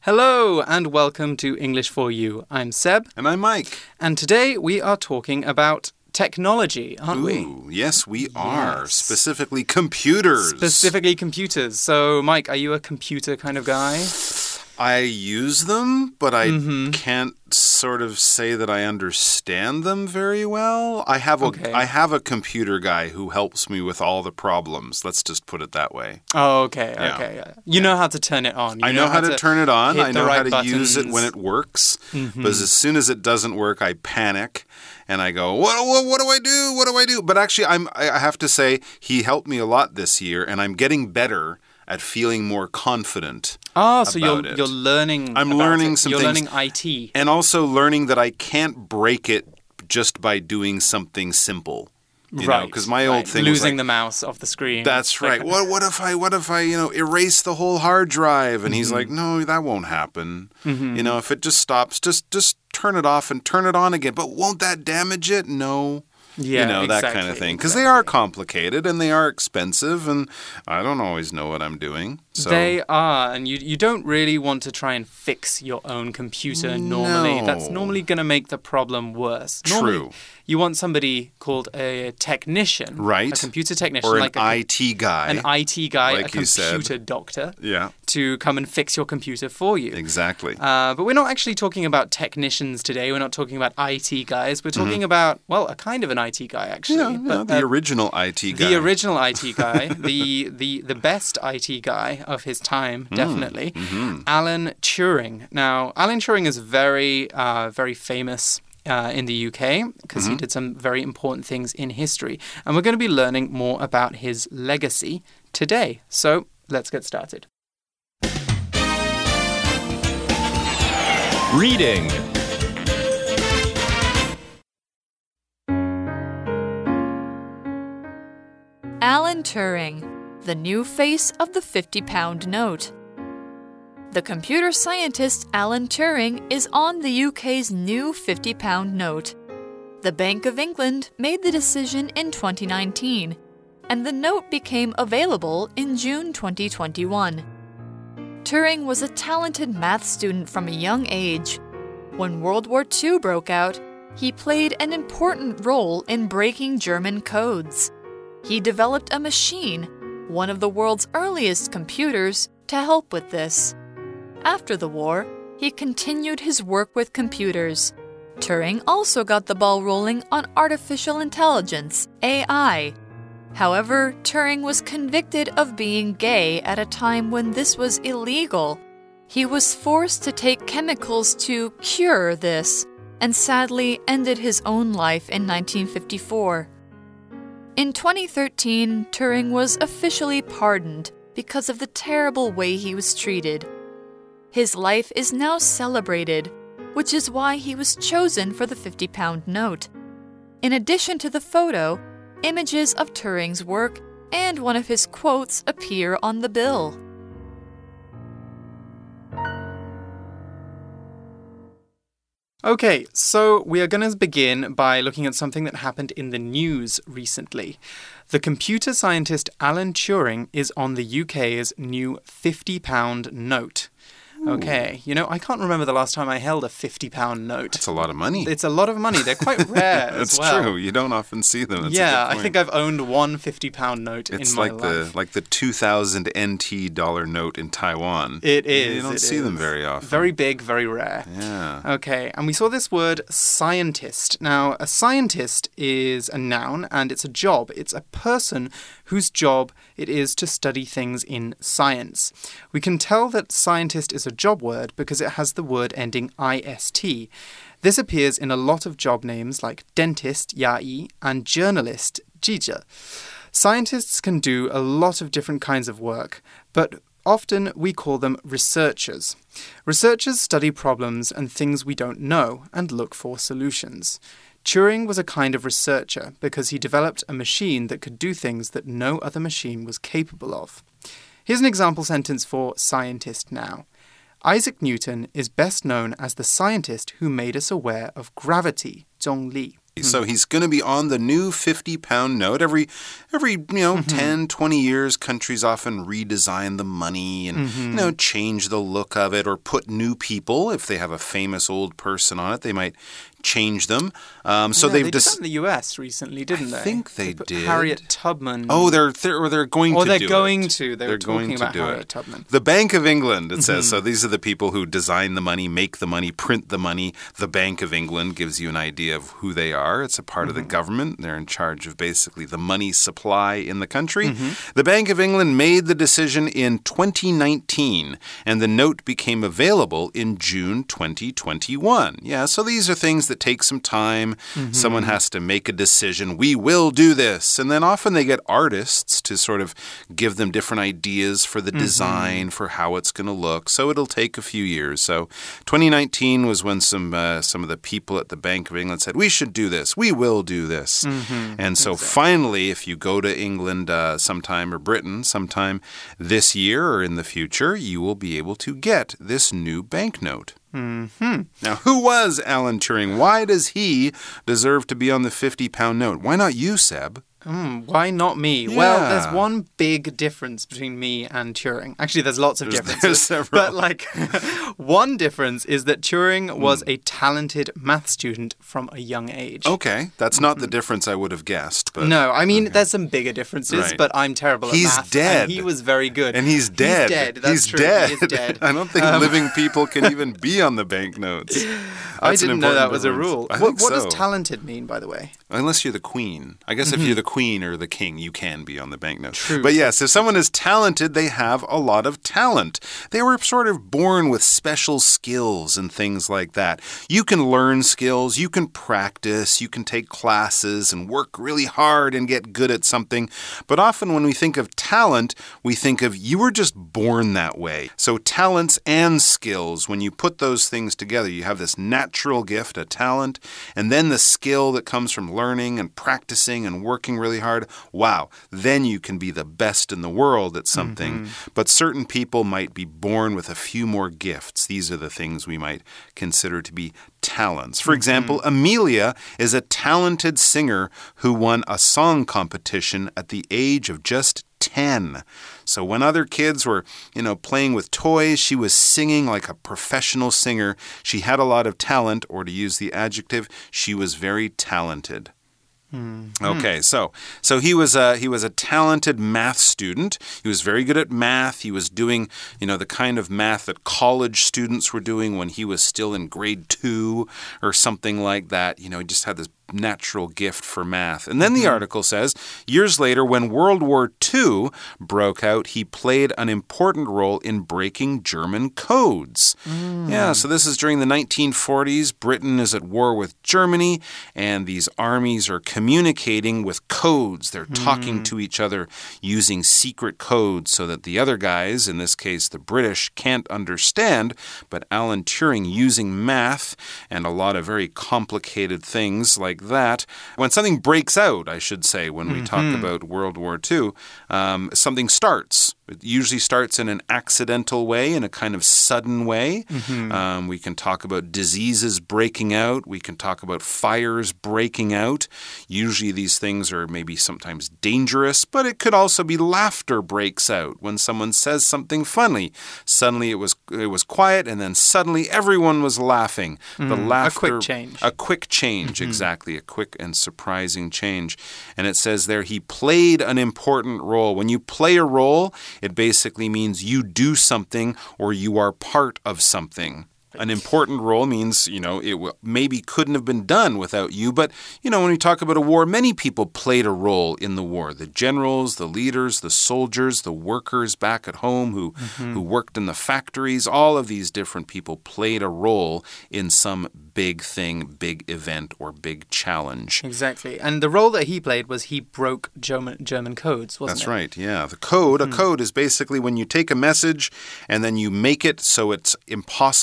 Hello and welcome to English for You. I'm Seb. And I'm Mike. And today we are talking about technology, aren't we? Yes, we are. Specifically computers. Specifically computers. So, Mike, are you a computer kind of guy? I use them, but I can't sort of say that I understand them very well. I have a computer guy who helps me with all the problems. Let's just put it that way. Oh, okay. You know how to turn it on. I know how to turn it on. I know how to buttons. use it when it works. But as soon as it doesn't work, I panic. And I go, what do I do? What do I do? But actually, I have to say, he helped me a lot this year, and I'm getting better at feeling more confident. So you're learning. I'm learning some things. You're learning IT. And also learning that I can't break it just by doing something simple. You know, because my old thing was losing the mouse off the screen. That's right. What if I erase the whole hard drive? And he's like, no, that won't happen. If it just stops, just turn it off and turn it on again. But won't that damage it? No. Yeah, that kind of thing. Because they are complicated and they are expensive, and I don't always know what I'm doing. So. They are, and you don't really want to try and fix your own computer normally. No. That's normally going to make the problem worse. Normally, you want somebody called a technician. Right. A computer technician. Or an IT guy. An IT guy, like a computer doctor. Yeah. To come and fix your computer for you. Exactly. But we're not actually talking about technicians today. We're not talking about IT guys. We're talking about, a kind of an IT guy, actually. The original IT guy. The original IT guy. the best IT guy of his time, definitely. Alan Turing. Now, Alan Turing is very famous in the UK because he did some very important things in history. And we're going to be learning more about his legacy today. So, let's get started. Reading. Alan Turing, the new face of the 50-pound note. The computer scientist Alan Turing is on the UK's new 50-pound note. The Bank of England made the decision in 2019, and the note became available in June 2021. Turing was a talented math student from a young age. When World War II broke out, he played an important role in breaking German codes. He developed a machine, one of the world's earliest computers, to help with this. After the war, he continued his work with computers. Turing also got the ball rolling on artificial intelligence, AI. However, Turing was convicted of being gay at a time when this was illegal. He was forced to take chemicals to cure this, and sadly ended his own life in 1954. In 2013, Turing was officially pardoned because of the terrible way he was treated. His life is now celebrated, which is why he was chosen for the 50-pound note. In addition to the photo, images of Turing's work and one of his quotes appear on the bill. Okay, so we are going to begin by looking at something that happened in the news recently. The computer scientist Alan Turing is on the UK's new 50-pound note. Okay, I can't remember the last time I held a 50-pound note. That's a lot of money. It's a lot of money. They're quite rare as well. That's true. You don't often see them. That's I think I've owned one 50-pound note in my life. It's like the 2000 NT dollar note in Taiwan. It is. You don't see them very often. Very big, very rare. Yeah. Okay, and we saw this word scientist. Now, a scientist is a noun and it's a job. It's a person whose job it is to study things in science. We can tell that scientist is a job word because it has the word ending ist. This appears in a lot of job names like dentist, 牙医, and journalist, 记者. Scientists can do a lot of different kinds of work, but often we call them researchers. Researchers study problems and things we don't know and look for solutions. Turing was a kind of researcher because he developed a machine that could do things that no other machine was capable of. Here's an example sentence for scientist now. Isaac Newton is best known as the scientist who made us aware of gravity, 重力. So he's going to be on the new 50-pound note. Every 10, 20 years, countries often redesign the money and, change the look of it or put new people. If they have a famous old person on it, they might change them. So they did that in the US recently, didn't they? I think they did. Harriet Tubman. Oh, they're going to do it. They're going to. They were talking about Harriet Tubman. The Bank of England, it says. So these are the people who design the money, make the money, print the money. The Bank of England gives you an idea of who they are. It's a part of the government. They're in charge of basically the money supply in the country. The Bank of England made the decision in 2019, and the note became available in June 2021. Yeah, so these are things that take some time. Someone has to make a decision. We will do this. And then often they get artists to sort of give them different ideas for the design, for how it's going to look. So it'll take a few years. So 2019 was when some of the people at the Bank of England said, we should do this. We will do this. And so finally, if you go to England sometime or Britain sometime this year or in the future, you will be able to get this new banknote. Now, who was Alan Turing? Why does he deserve to be on the 50-pound note? Why not you, Seb? Why not me? Yeah. Well, there's one big difference between me and Turing. Actually, there's lots of differences. There's several. But one difference is that Turing was a talented math student from a young age. Okay, that's not the difference I would have guessed. But no, I mean, there's some bigger differences, Right. but I'm terrible at math. He's dead. And he was very good. And he's dead. He's dead. That's He's true. dead. He is dead. I don't think living people can even be on the banknotes. I didn't know that was a difference. rule. I What think does so. talented mean, by the way? Unless you're the queen. I guess if you're the queen or the king, you can be on the banknote. True. But yes, if someone is talented, they have a lot of talent. They were sort of born with special skills and things like that. You can learn skills, you can practice, you can take classes and work really hard and get good at something. But often when we think of talent, we think of you were just born that way. So talents and skills, when you put those things together, you have this natural gift, a talent, and then the skill that comes from learning and practicing and working really hard. Wow, then you can be the best in the world at something. But certain people might be born with a few more gifts. These are the things we might consider to be talents. For example, Amelia is a talented singer who won a song competition at the age of just 10. So when other kids were, playing with toys, she was singing like a professional singer. She had a lot of talent, or to use the adjective, she was very talented. Okay, so he was a talented math student. He was very good at math. He was doing, the kind of math that college students were doing when he was still in grade 2 or something like that. He just had this natural gift for math. And then the article says, years later, when World War II broke out, he played an important role in breaking German codes. Yeah, so this is during the 1940s. Britain is at war with Germany, and these armies are communicating with codes. They're talking to each other using secret codes so that the other guys, in this case the British, can't understand. But Alan Turing, using math and a lot of very complicated things like that. When something breaks out, I should say, when we talk about World War II, something starts. It usually starts in an accidental way, in a kind of sudden way. We can talk about diseases breaking out. We can talk about fires breaking out. Usually these things are maybe sometimes dangerous, but it could also be laughter breaks out when someone says something funny. Suddenly it was quiet, and then suddenly everyone was laughing. The laughter, a quick change. A quick change, exactly. A quick and surprising change. And it says there, he played an important role. When you play a role, it basically means you do something or you are part of something. An important role means, it maybe couldn't have been done without you. But, when we talk about a war, many people played a role in the war. The generals, the leaders, the soldiers, the workers back at home who worked in the factories, all of these different people played a role in some big thing, big event, or big challenge. Exactly. And the role that he played was he broke German codes, wasn't it? That's right, yeah. The code, a code is basically when you take a message and then you make it so it's impossible to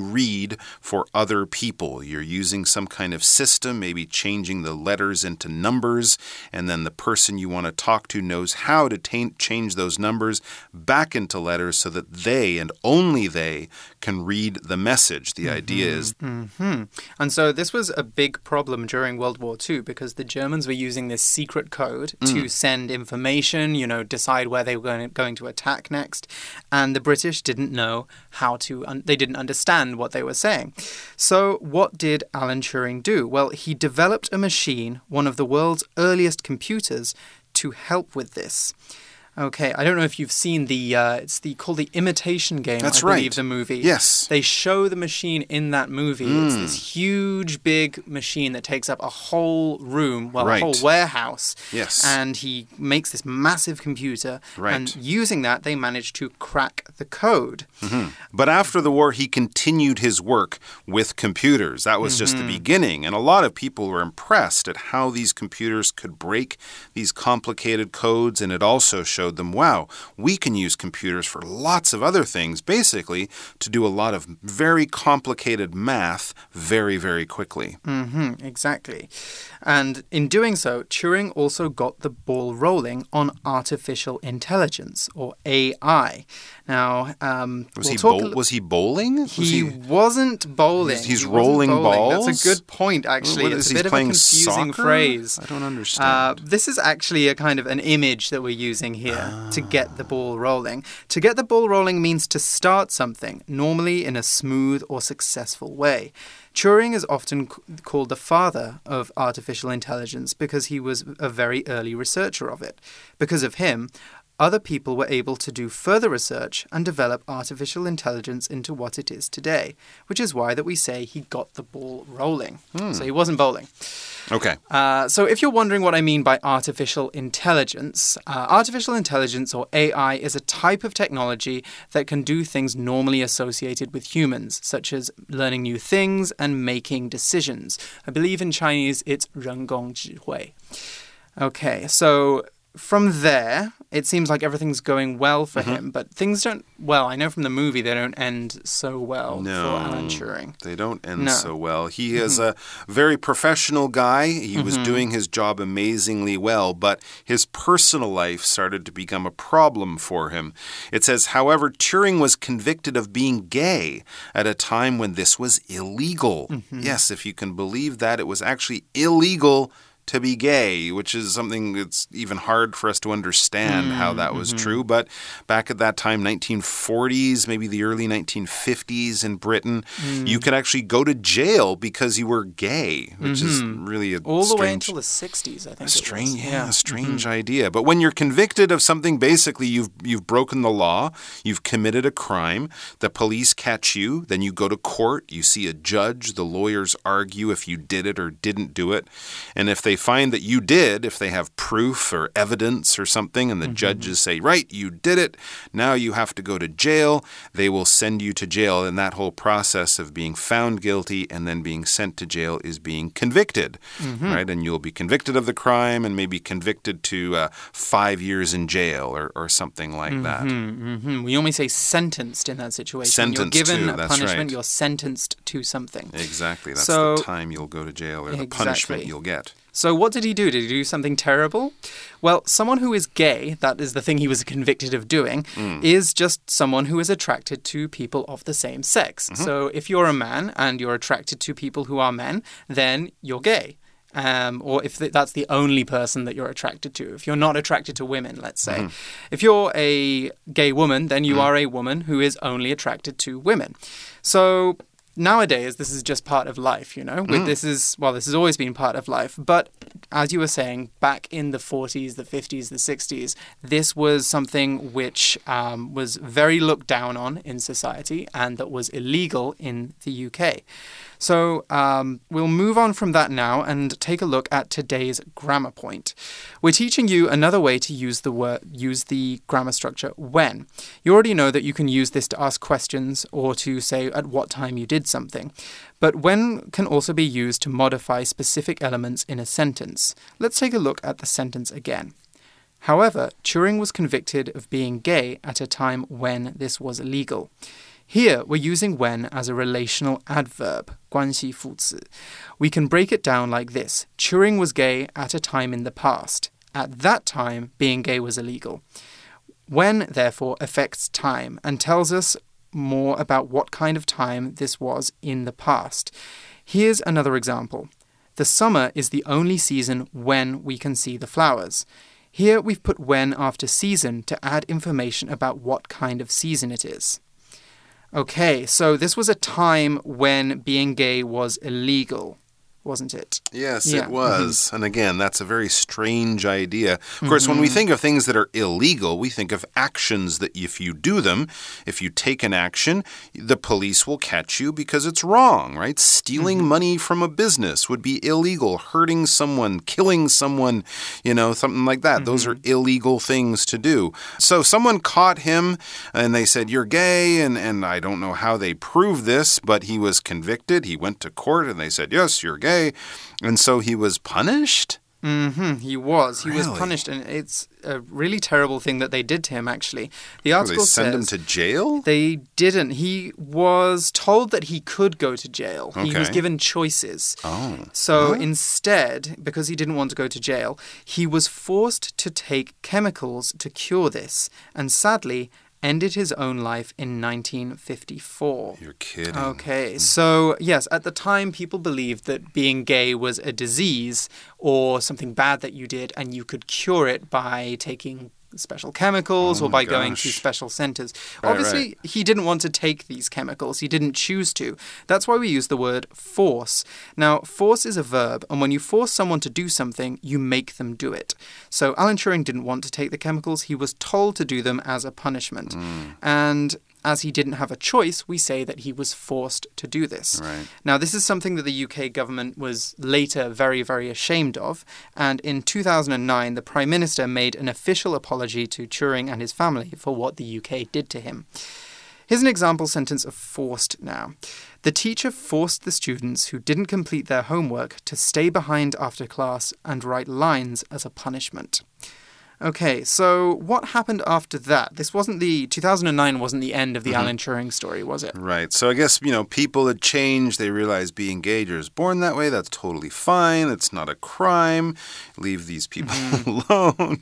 read for other people. You're using some kind of system, maybe changing the letters into numbers, and then the person you want to talk to knows how to change those numbers back into letters so that they and only they can read the message. The idea is... And so this was a big problem during World War II because the Germans were using this secret code to send information, you know, decide where they were going to attack next. And the British didn't know how to, they didn't understand what they were saying. So what did Alan Turing do? Well, he developed a machine, one of the world's earliest computers, to help with this. Okay, I don't know if you've seen it's called The Imitation Game, That's I believe, the movie. Yes. They show the machine in that movie. It's this huge, big machine that takes up a whole room, well, a whole warehouse. Yes. And he makes this massive computer. Right. And using that, they managed to crack the code. But after the war, he continued his work with computers. That was just the beginning. And a lot of people were impressed at how these computers could break these complicated codes, and it also showed them, wow, we can use computers for lots of other things, basically to do a lot of very complicated math very, very quickly. Exactly. And in doing so, Turing also got the ball rolling on artificial intelligence, or AI. Now, was he bowling? He wasn't bowling. He's rolling balls? That's a good point, actually. It's a bit of a confusing phrase. I don't understand. This is actually a kind of an image that we're using here to get the ball rolling. To get the ball rolling means to start something, normally in a smooth or successful way. Turing is often called the father of artificial intelligence because he was a very early researcher of it. Because of him, other people were able to do further research and develop artificial intelligence into what it is today, which is why that we say he got the ball rolling. So he wasn't bowling. Okay. So if you're wondering what I mean by artificial intelligence or AI is a type of technology that can do things normally associated with humans, such as learning new things and making decisions. I believe in Chinese it's 人工智慧. Okay, so from there, it seems like everything's going well for him, but things don't, well, I know from the movie they don't end so well for Alan Turing. They don't end so well. He is a very professional guy. He was doing his job amazingly well, but his personal life started to become a problem for him. It says, however, Turing was convicted of being gay at a time when this was illegal. Yes, if you can believe that, it was actually illegal to be gay, which is something that's even hard for us to understand how that was true. But back at that time, 1940s, maybe the early 1950s in Britain, you could actually go to jail because you were gay, which is really a all the way until the 60s, I think. A strange idea. But when you're convicted of something, basically you've broken the law, you've committed a crime, the police catch you, then you go to court, you see a judge, the lawyers argue if you did it or didn't do it, and if they find that you did, if they have proof or evidence or something, and the judges say, right, you did it, now you have to go to jail, they will send you to jail, and that whole process of being found guilty and then being sent to jail is being convicted, right? And you'll be convicted of the crime and maybe convicted to 5 years in jail or something like that. We only say sentenced in that situation. Sentenced you're given to, a punishment, you're sentenced to something. Exactly. That's the time you'll go to jail, or the punishment you'll get. So what did he do? Did he do something terrible? Well, someone who is gay, that is the thing he was convicted of doing, is just someone who is attracted to people of the same sex. So if you're a man and you're attracted to people who are men, then you're gay. Or if that's the only person that you're attracted to. If you're not attracted to women, let's say. If you're a gay woman, then you are a woman who is only attracted to women. So nowadays, this is just part of life, you know? This has always been part of life. But as you were saying, back in the 40s, the 50s, the 60s, this was something which was very looked down on in society and that was illegal in the UK. So we'll move on from that now and take a look at today's grammar point. We're teaching you another way to use the grammar structure when. You already know that you can use this to ask questions or to say at what time you did something. But when can also be used to modify specific elements in a sentence. Let's take a look at the sentence again. However, Turing was convicted of being gay at a time when this was illegal. Here, we're using when as a relational adverb, 关系副词. We can break it down like this. Turing was gay at a time in the past. At that time, being gay was illegal. When, therefore, affects time and tells us more about what kind of time this was in the past. Here's another example. The summer is the only season when we can see the flowers. Here we've put when after season to add information about what kind of season it is. Okay, so this was a time when being gay was illegal, wasn't it? Yes, it was. And again, that's a very strange idea. Of course, when we think of things that are illegal, we think of actions that if you do them, if you take an action, the police will catch you because it's wrong, right? Stealing money from a business would be illegal. Hurting someone, killing someone, something like that. Those are illegal things to do. So someone caught him and they said, you're gay, and I don't know how they proved this, but he was convicted. He went to court and they said, yes, you're gay. And so he was punished? He was. He Really? was punished, and it's a really terrible thing that they did to him, actually. The article Did they send him to jail? They didn't. He was told that he could go to jail. Okay. He was given choices. Oh. So instead, because he didn't want to go to jail, he was forced to take chemicals to cure this. And sadly, ended his own life in 1954. You're kidding. Okay, so yes, at the time people believed that being gay was a disease or something bad that you did and you could cure it by taking special chemicals or by going to special centers. Obviously, he didn't want to take these chemicals. He didn't choose to. That's why we use the word force. Now, force is a verb, and when you force someone to do something, you make them do it. So Alan Turing didn't want to take the chemicals. He was told to do them as a punishment. And as he didn't have a choice, we say that he was forced to do this. Right. Now, this is something that the UK government was later very, very ashamed of. And in 2009, the Prime Minister made an official apology to Turing and his family for what the UK did to him. Here's an example sentence of forced now. The teacher forced the students who didn't complete their homework to stay behind after class and write lines as a punishment. Okay, so what happened after that? 2009 wasn't the end of the Alan Turing story, was it? Right. So I guess, people had changed. They realized being gay or is born that way. That's totally fine. It's not a crime. Leave these people alone.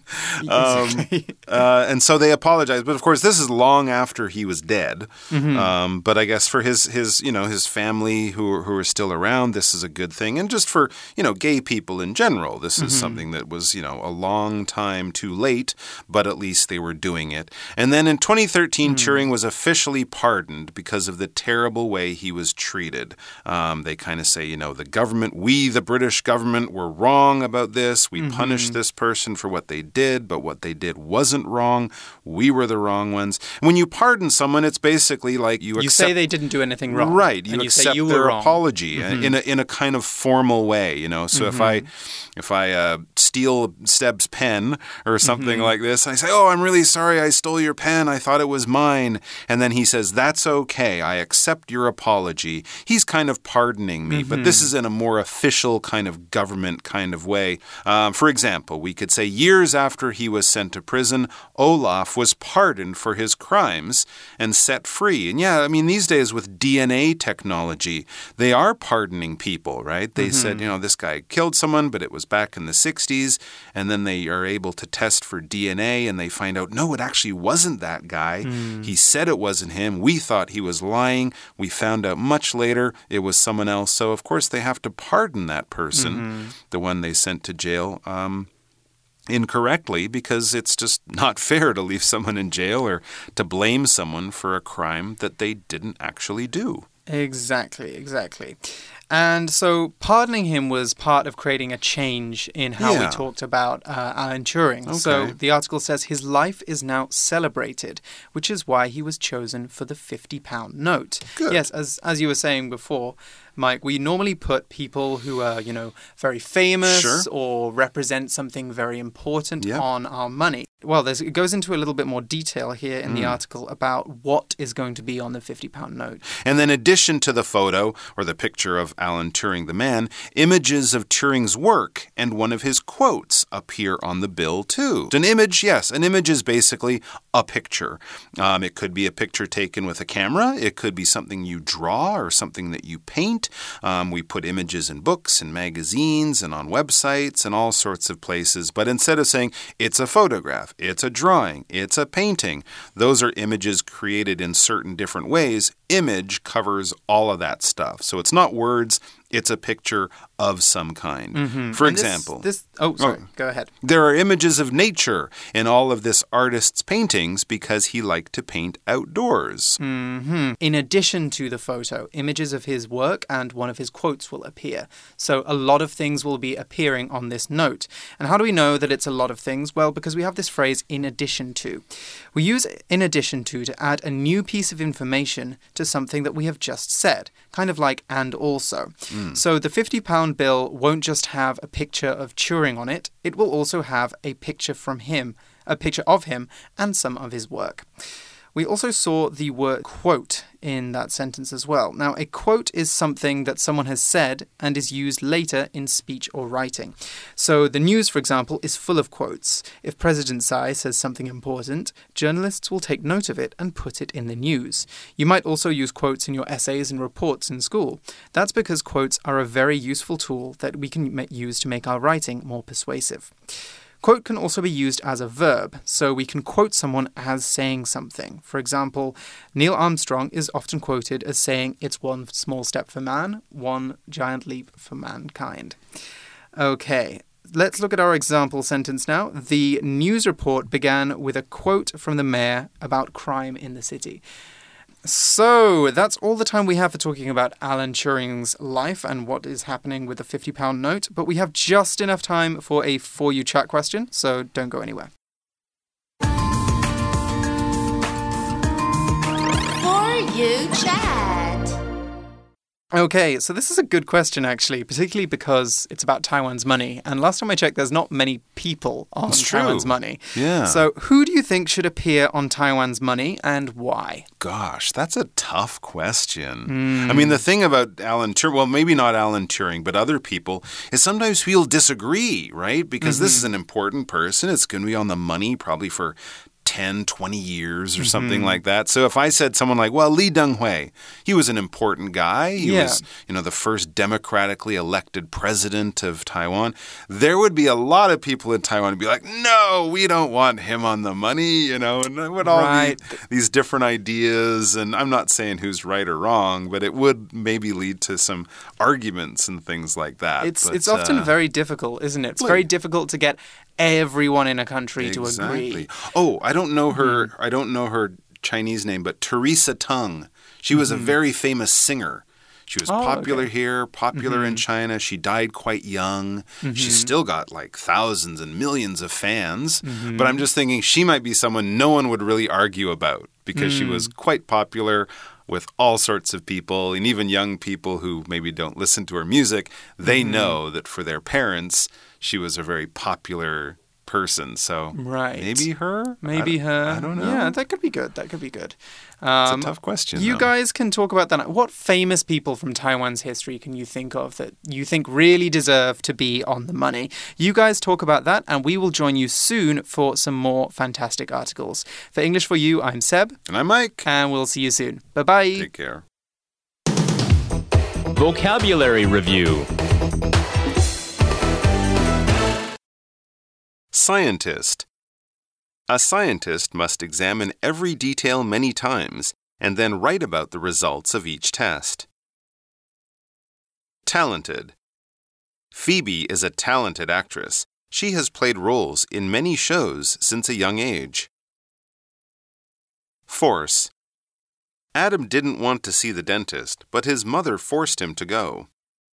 And so they apologized. But of course, this is long after he was dead. But I guess for his family who are still around, this is a good thing. And just for, gay people in general, this is something that was, a long time too late, but at least they were doing it. And then in 2013, Turing was officially pardoned because of the terrible way he was treated. They kind of say, the government, the British government, were wrong about this. We punished this person for what they did, but what they did wasn't wrong. We were the wrong ones. When you pardon someone, it's basically like you accept... You say they didn't do anything wrong. Right. You accept their apology in a kind of formal way, So if I steal Steb's pen or something like this, I say, oh, I'm really sorry I stole your pen. I thought it was mine. And then he says, that's okay. I accept your apology. He's kind of pardoning me, but this is in a more official kind of government kind of way. For example, we could say years after he was sent to prison, Olaf was pardoned for his crimes and set free. And yeah, I mean, these days with DNA technology, they are pardoning people, right? They said, this guy killed someone, but it was back in the 60s. And then they are able to test for DNA and they find out, no, it actually wasn't that guy. He said it wasn't him. We thought he was lying. We found out much later it was someone else. So, of course, they have to pardon that person, the one they sent to jail, incorrectly, because it's just not fair to leave someone in jail or to blame someone for a crime that they didn't actually do. Exactly. And so pardoning him was part of creating a change in how we talked about Alan Turing. Okay. So the article says his life is now celebrated, which is why he was chosen for the £50 note. Good. Yes, as you were saying before, Mike, we normally put people who are, very famous or represent something very important on our money. Well, it goes into a little bit more detail here in the article about what is going to be on the £50 note. And then in addition to the photo or the picture of Alan Turing the man, images of Turing's work and one of his quotes appear on the bill too. An image, yes, an image is basically a picture. It could be a picture taken with a camera. It could be something you draw or something that you paint. We put images in books and magazines and on websites and all sorts of places. But instead of saying it's a photograph, it's a drawing, it's a painting, those are images created in certain different ways. Image covers all of that stuff. So it's not words, it's a picture of some kind. For example... Go ahead. There are images of nature in all of this artist's paintings because he liked to paint outdoors. In addition to the photo, images of his work and one of his quotes will appear. So a lot of things will be appearing on this note. And how do we know that it's a lot of things? Well, because we have this phrase, in addition to. We use in addition to add a new piece of information to something that we have just said, kind of like and also. So the £50 bill won't just have a picture of Turing on it, it will also have a picture from him, a picture of him and some of his work. We also saw the word quote in that sentence as well. Now, a quote is something that someone has said and is used later in speech or writing. So the news, for example, is full of quotes. If President Tsai says something important, journalists will take note of it and put it in the news. You might also use quotes in your essays and reports in school. That's because quotes are a very useful tool that we can use to make our writing more persuasive. Quote can also be used as a verb, so we can quote someone as saying something. For example, Neil Armstrong is often quoted as saying, "It's one small step for man, one giant leap for mankind." Okay, let's look at our example sentence now. The news report began with a quote from the mayor about crime in the city. So, that's all the time we have for talking about Alan Turing's life and what is happening with the £50 note, but we have just enough time for a For You Chat question, so don't go anywhere. For You Chat. Okay, so this is a good question, actually, particularly because it's about Taiwan's money. And last time I checked, there's not many people on Taiwan's money. Yeah. So who do you think should appear on Taiwan's money and why? Gosh, that's a tough question. I mean, the thing about Alan Turing, well, maybe not Alan Turing, but other people, is sometimes we'll disagree, right? Because this is an important person. It's going to be on the money probably for 10, 20 years or something like that. So if I said someone like, well, Lee Teng-hui, he was an important guy. He was, the first democratically elected president of Taiwan. There would be a lot of people in Taiwan who'd be like, no, we don't want him on the money, and it would all be these different ideas. And I'm not saying who's right or wrong, but it would maybe lead to some arguments and things like that. It's often very difficult, isn't it? It's very difficult to get everyone in a country to agree. Oh, I don't know her. I don't know her Chinese name, but Teresa Teng. She was a very famous singer. She was popular here, popular in China. She died quite young. She's still got like thousands and millions of fans. But I'm just thinking she might be someone no one would really argue about because she was quite popular with all sorts of people, and even young people who maybe don't listen to her music. They know that for their parents, she was a very popular person. So maybe her? Maybe her. I don't know. Yeah, that could be good. That could be good. It's a tough question. You guys can talk about that. What famous people from Taiwan's history can you think of that you think really deserve to be on the money? You guys talk about that, and we will join you soon for some more fantastic articles. For English for You, I'm Seb. And I'm Mike. And we'll see you soon. Bye-bye. Take care. Vocabulary Review. Scientist. A scientist must examine every detail many times and then write about the results of each test. Talented. Phoebe is a talented actress. She has played roles in many shows since a young age. Force. Adam didn't want to see the dentist, but his mother forced him to go.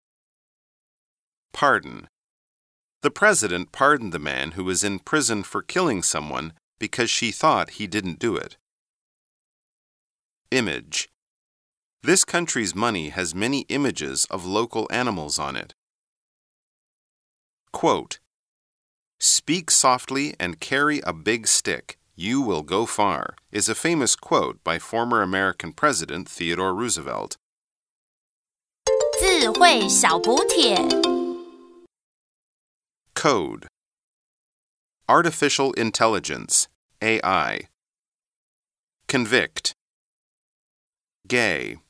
Pardon. The president pardoned the man who was in prison for killing someone because she thought he didn't do it. Image. This country's money has many images of local animals on it. Quote. Speak softly and carry a big stick. You will go far, is a famous quote by former American President Theodore Roosevelt. 自詞彙小補帖 Code Artificial Intelligence, AI Convict Gay